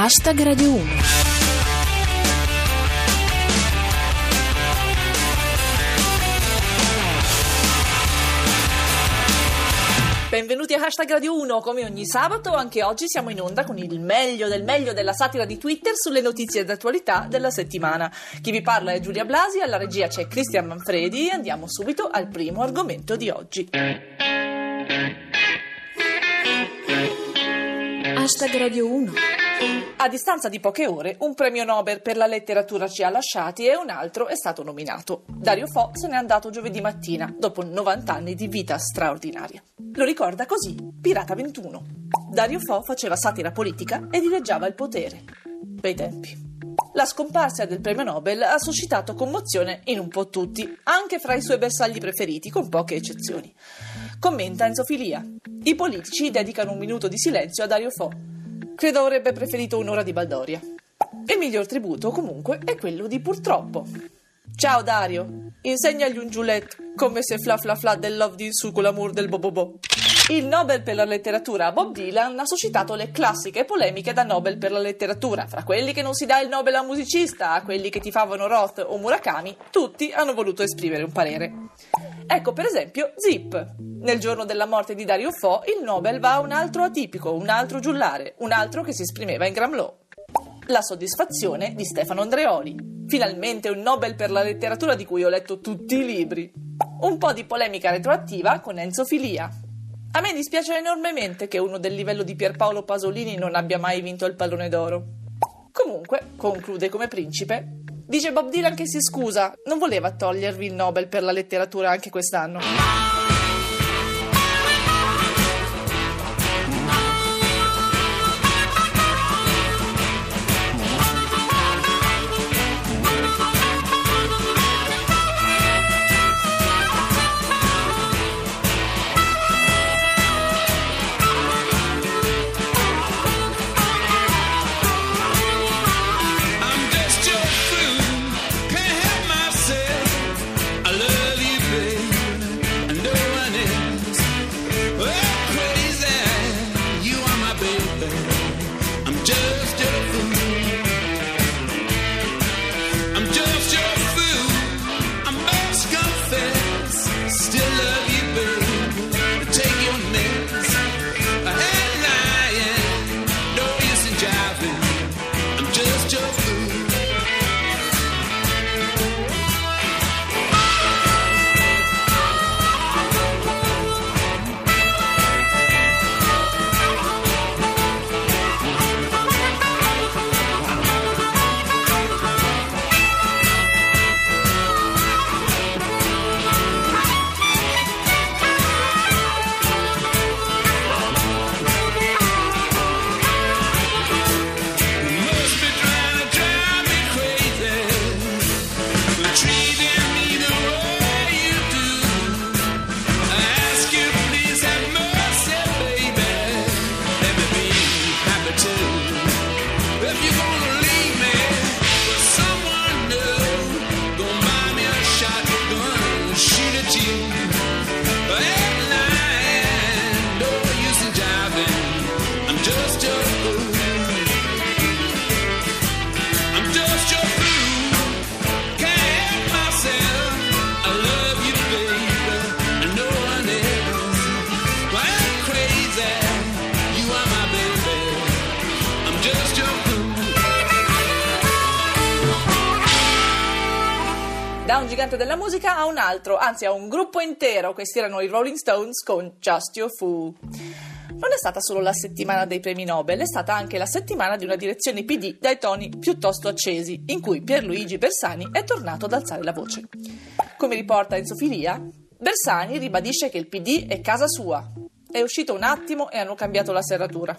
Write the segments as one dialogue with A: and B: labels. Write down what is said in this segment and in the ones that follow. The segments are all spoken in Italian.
A: Radio 1.
B: Benvenuti a Radio 1, come ogni sabato anche oggi siamo in onda con il meglio del meglio della satira di Twitter sulle notizie d'attualità della settimana. Chi vi parla è Giulia Blasi, alla regia c'è Cristian Manfredi e andiamo subito al primo argomento di oggi.
A: Radio 1.
B: A distanza di poche ore, un premio Nobel per la letteratura ci ha lasciati e un altro è stato nominato. Dario Fo se n'è andato giovedì mattina, dopo 90 anni di vita straordinaria. Lo ricorda così Pirata 21. Dario Fo faceva satira politica e dileggiava il potere. Bei tempi. La scomparsa del premio Nobel ha suscitato commozione in un po' tutti, anche fra i suoi bersagli preferiti, con poche eccezioni. Commenta Enzo Filia. I politici dedicano un minuto di silenzio a Dario Fo. Credo avrebbe preferito un'ora di baldoria. Il miglior tributo, comunque, è quello di purtroppo. Ciao Dario, insegnagli un giulet come se fla fla fla del love di su con l'amor del bobobo. Il Nobel per la letteratura a Bob Dylan ha suscitato le classiche polemiche da Nobel per la letteratura. Fra quelli che non si dà il Nobel a un musicista, a quelli che tifavano Roth o Murakami, tutti hanno voluto esprimere un parere. Ecco per esempio Zip. Nel giorno della morte di Dario Fo il Nobel va a un altro atipico, un altro giullare, un altro che si esprimeva in Gramlow. La soddisfazione di Stefano Andreoli. Finalmente un Nobel per la letteratura di cui ho letto tutti i libri. Un po' di polemica retroattiva con Enzo Filia. A me dispiace enormemente che uno del livello di Pierpaolo Pasolini non abbia mai vinto il pallone d'oro. Comunque, conclude come principe, dice Bob Dylan che si scusa, non voleva togliervi il Nobel per la letteratura anche quest'anno. Da un gigante della musica a un altro, anzi a un gruppo intero. Questi erano i Rolling Stones con Just Your Fool. Non è stata solo la settimana dei premi Nobel, è stata anche la settimana di una direzione PD dai toni piuttosto accesi, in cui Pierluigi Bersani è tornato ad alzare la voce. Come riporta Enzo Filia, Bersani ribadisce che il PD è casa sua. È uscito un attimo e hanno cambiato la serratura.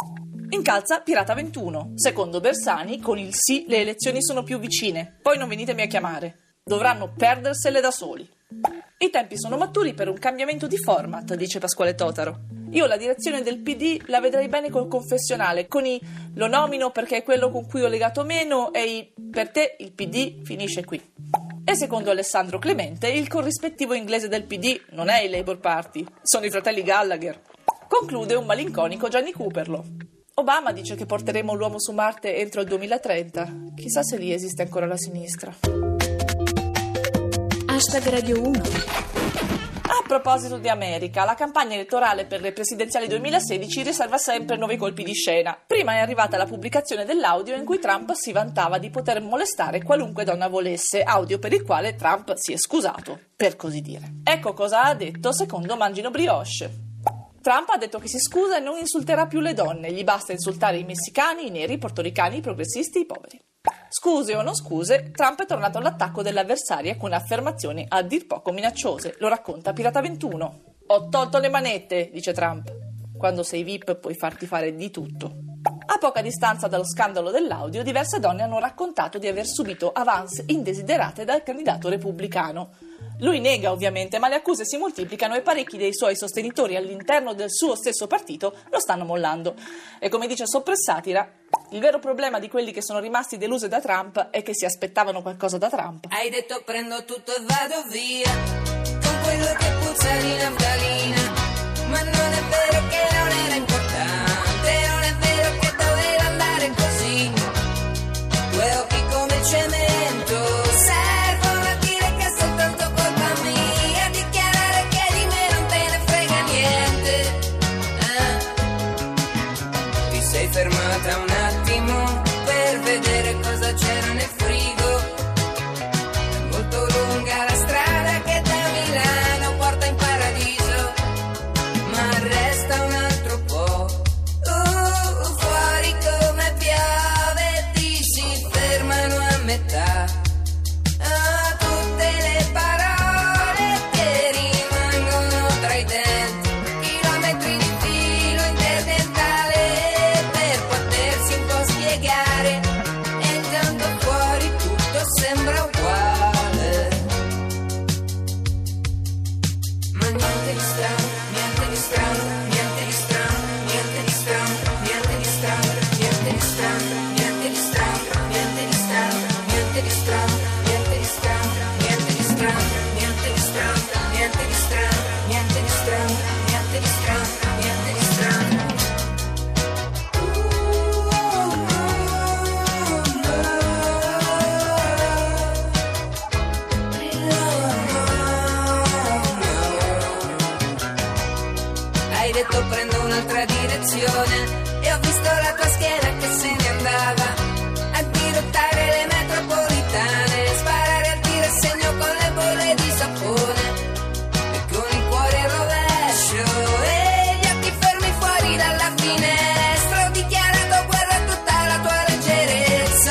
B: Incalza Pirata 21. Secondo Bersani, con il sì le elezioni sono più vicine, poi non venitemi a chiamare. Dovranno perdersele da soli. I tempi sono maturi per un cambiamento di format, dice Pasquale Totaro. Io la direzione del PD la vedrei bene col confessionale, con i lo nomino perché è quello con cui ho legato meno e i per te il PD finisce qui. E secondo Alessandro Clemente il corrispettivo inglese del PD non è il Labour Party, sono i fratelli Gallagher. Conclude un malinconico Gianni Cooperlo. Obama dice che porteremo l'uomo su Marte entro il 2030. Chissà se lì esiste ancora la sinistra.
A: #Radio 1.
B: A proposito di America, la campagna elettorale per le presidenziali 2016 riserva sempre nuovi colpi di scena. Prima è arrivata la pubblicazione dell'audio in cui Trump si vantava di poter molestare qualunque donna volesse, audio per il quale Trump si è scusato, per così dire. Ecco cosa ha detto secondo Mangino Brioche. Trump ha detto che si scusa e non insulterà più le donne, gli basta insultare i messicani, i neri, i portoricani, i progressisti, i poveri. Scuse o non scuse, Trump è tornato all'attacco dell'avversaria con affermazioni a dir poco minacciose. Lo racconta Pirata 21. Ho tolto le manette, dice Trump. Quando sei VIP puoi farti fare di tutto. A poca distanza dallo scandalo dell'audio, diverse donne hanno raccontato di aver subito avance indesiderate dal candidato repubblicano. Lui nega ovviamente, ma le accuse si moltiplicano e parecchi dei suoi sostenitori all'interno del suo stesso partito lo stanno mollando. E come dice Soppressatira, il vero problema di quelli che sono rimasti deluse da Trump è che si aspettavano qualcosa da Trump.
C: Hai detto prendo tutto e vado via, con quello che puzza di naftalina, ma non è vero che non era importante, non è vero che doveva andare così. Due occhi come il cemento servono a dire che è soltanto colpa mia, a dichiarare che di me non te ne frega niente. Ti sei fermata un attimo per vedere cosa c'era nel frigo. È molto lunga la strada che da Milano porta in paradiso, ma resta un altro po'. Fuori come piove, ti si fermano a metà. Tutte le parole che rimangono tra i denti, chilometri di filo interdentale per potersi un po' spiegare, e intanto fuori tutto sembra uguale. Ma niente di strano, niente di strano, niente di strano, niente di strano, niente di strano, niente di strano, niente di strano, niente di strano, niente di strano, niente di strano, niente di strano, niente di strano, niente di strano, niente di strano, niente di strano, niente di strano. Hai detto prendo un'altra direzione e ho visto la tua scheda che se ne andava a dirottare le metropolitane, sparare al tiro e segno con le bolle di sapone e con il cuore al rovescio e gli occhi fermi fuori dalla finestra. Ho dichiarato guerra a tutta la tua leggerezza,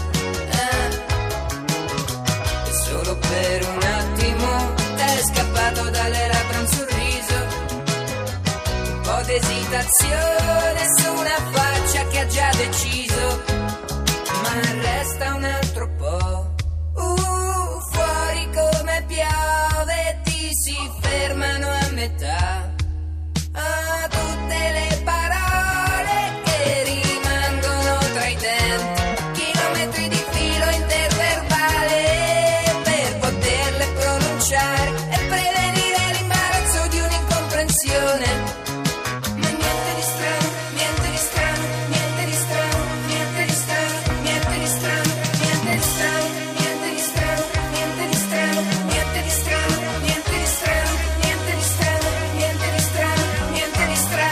C: e solo per un attimo t'è scappato dalle labbra un sorriso, un po' d'esitazione su una faccia che ha già deciso, ma resta un altro po'. Fuori come piove, ti si fermano a metà. Tutte le parole che rimangono tra i denti, chilometri di filo interverbale per poterle pronunciare e prevenire l'imbarazzo di un'incomprensione. Ma niente di strano, niente di strano, niente di strano, niente di strano, niente di strano, niente di strano, niente di strano, niente di strano, niente di strano, niente di strano, niente di strano, niente di strano, niente di strano.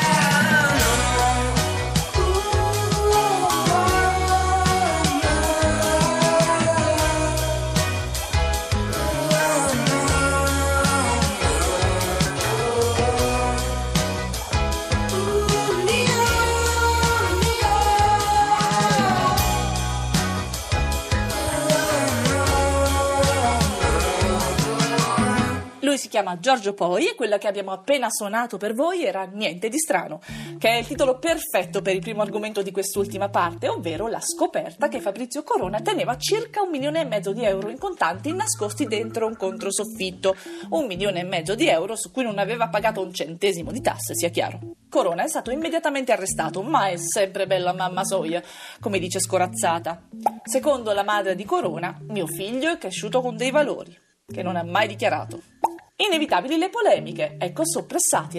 B: Lui si chiama Giorgio Poi e quella che abbiamo appena suonato per voi era Niente di strano, che è il titolo perfetto per il primo argomento di quest'ultima parte, ovvero la scoperta che Fabrizio Corona teneva circa 1,5 milioni di euro in contanti nascosti dentro un controsoffitto. 1,5 milioni di euro su cui non aveva pagato un centesimo di tasse, sia chiaro. Corona è stato immediatamente arrestato, ma è sempre bella mamma soia, come dice Scorazzata. Secondo la madre di Corona, mio figlio è cresciuto con dei valori, che non ha mai dichiarato. Inevitabili le polemiche, ecco Soppressatira.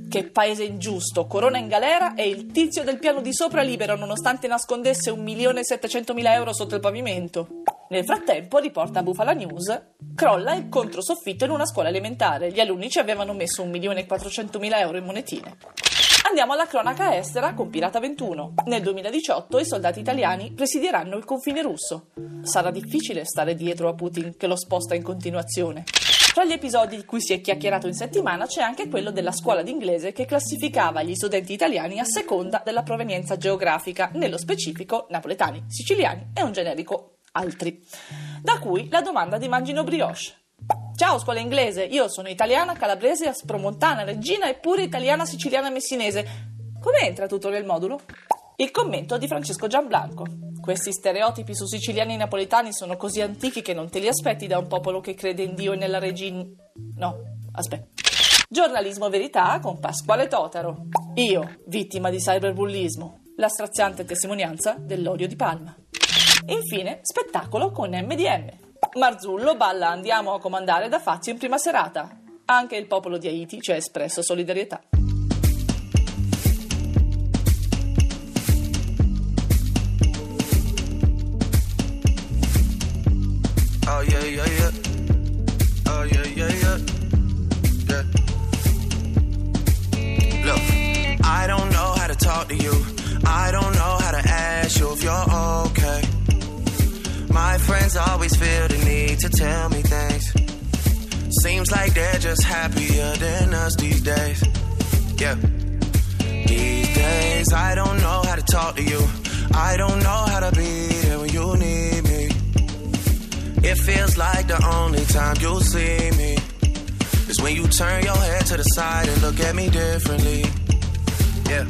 B: Che paese ingiusto, Corona in galera e il tizio del piano di sopra libero nonostante nascondesse 1.700.000 euro sotto il pavimento. Nel frattempo, riporta Bufala News, crolla il controsoffitto in una scuola elementare. Gli alunni ci avevano messo 1.400.000 euro in monetine. Andiamo alla cronaca estera con Pirata 21. Nel 2018 i soldati italiani presidieranno il confine russo. Sarà difficile stare dietro a Putin che lo sposta in continuazione. Tra gli episodi di cui si è chiacchierato in settimana c'è anche quello della scuola d'inglese che classificava gli studenti italiani a seconda della provenienza geografica, nello specifico napoletani, siciliani e un generico altri. Da cui la domanda di Mangino Brioche. Ciao scuola inglese, io sono italiana, calabrese, aspromontana, reggina e pure italiana, siciliana, messinese. Come entra tutto nel modulo? Il commento di Francesco Gianblanco. Questi stereotipi su siciliani e napoletani sono così antichi che non te li aspetti da un popolo che crede in Dio e nella regina. No, aspetta. Giornalismo verità con Pasquale Totaro. Io, vittima di cyberbullismo. La straziante testimonianza dell'odio di Palma. Infine, spettacolo con MDM. Marzullo balla Andiamo a comandare da Fazio in prima serata. Anche il popolo di Haiti ci ha espresso solidarietà.
D: Oh yeah, yeah, yeah. Oh yeah, yeah, yeah. Yeah. Look, I don't know how to talk to you. I don't know how to ask you if you're okay. My friends always feel the need to tell me things. Seems like they're just happier than us these days. Yeah. These days I don't know how to talk to you. I don't know how to be there when you need me. It feels like the only time you'll see me is when you turn your head to the side and look at me differently. Yeah.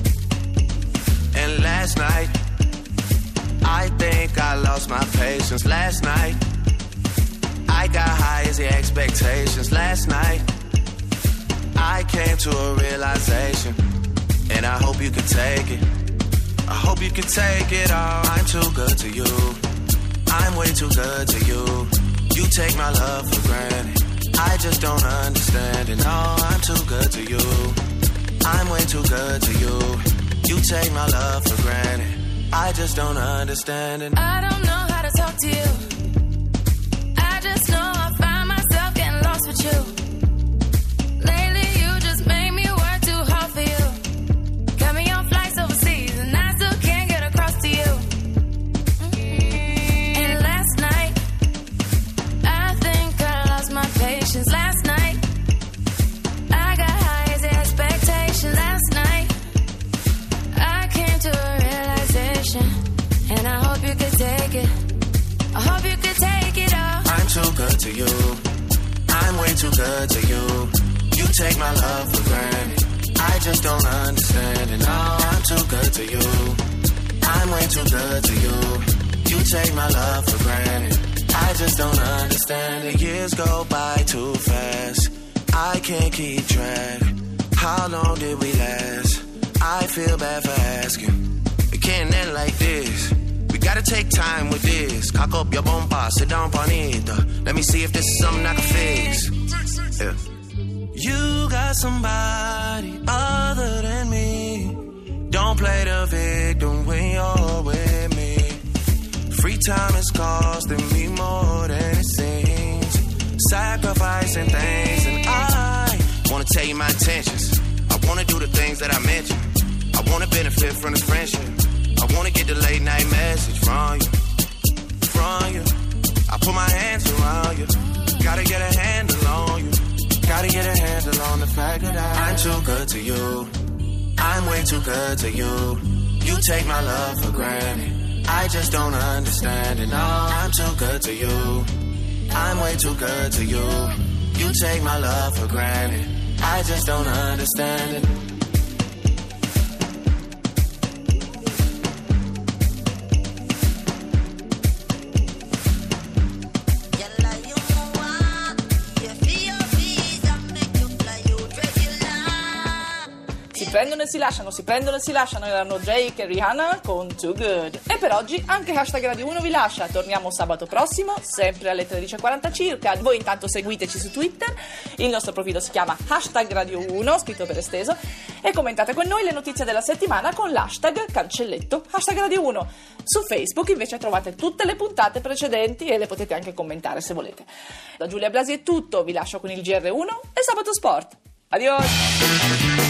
D: And last night, I think I lost my patience. Last night, I got high as the expectations. Last night, I came to a realization, and I hope you can take it. I hope you can take it all. I'm too good to you. I'm way too good to you. You take my love for granted. I just don't understand it. No, I'm too good to you. I'm way too good to you. You take my love for granted. I just don't understand it.
E: I don't know how to talk to you. I just know I find myself getting lost with you. Lately you just made me work too hard for you. Got me on flights overseas and I still can't get across to you. And last night, I think I lost my patience. Last night, I got high as the expectation. Last night, I came to a realization, and I hope you could take it. I hope you could take it all.
D: I'm too good to you. I'm way too good to you. You take my love for granted. I just don't understand it. No, I'm too good to you. I'm way too good to you. You take my love for granted. I just don't understand it. Years go by too fast. I can't keep track. How long did we last? I feel bad for asking. It can't end like this. We gotta take time with this. Cock up your bomba, sit down bonita. Let me see if this is something I can fix. Yeah. You got somebody other than me. Don't play the victim when you're with me. Free time is costing me more than it seems. Sacrificing things, and I wanna tell you my intentions. I wanna do the things that I mentioned. I wanna benefit from this friendship. I wanna get the late night message from you. I put my hands around you. Gotta get a handle on you. Gotta get a handle on the fact that I'm too good to you. I'm way too good to you. You take my love for granted. I just don't understand it. No, I'm too good to you. I'm way too good to you. You take my love for granted. I just don't understand it.
B: Si prendono e si lasciano, erano Drake e Rihanna con Too Good. E per oggi anche Hashtag Radio 1 vi lascia. Torniamo sabato prossimo, sempre alle 13:40 circa. Voi intanto seguiteci su Twitter, il nostro profilo si chiama Hashtag Radio 1, scritto per esteso, e commentate con noi le notizie della settimana con l'hashtag cancelletto Hashtag Radio 1. Su Facebook invece trovate tutte le puntate precedenti e le potete anche commentare se volete. Da Giulia Blasi è tutto, vi lascio con il GR1 e Sabato Sport. Adios!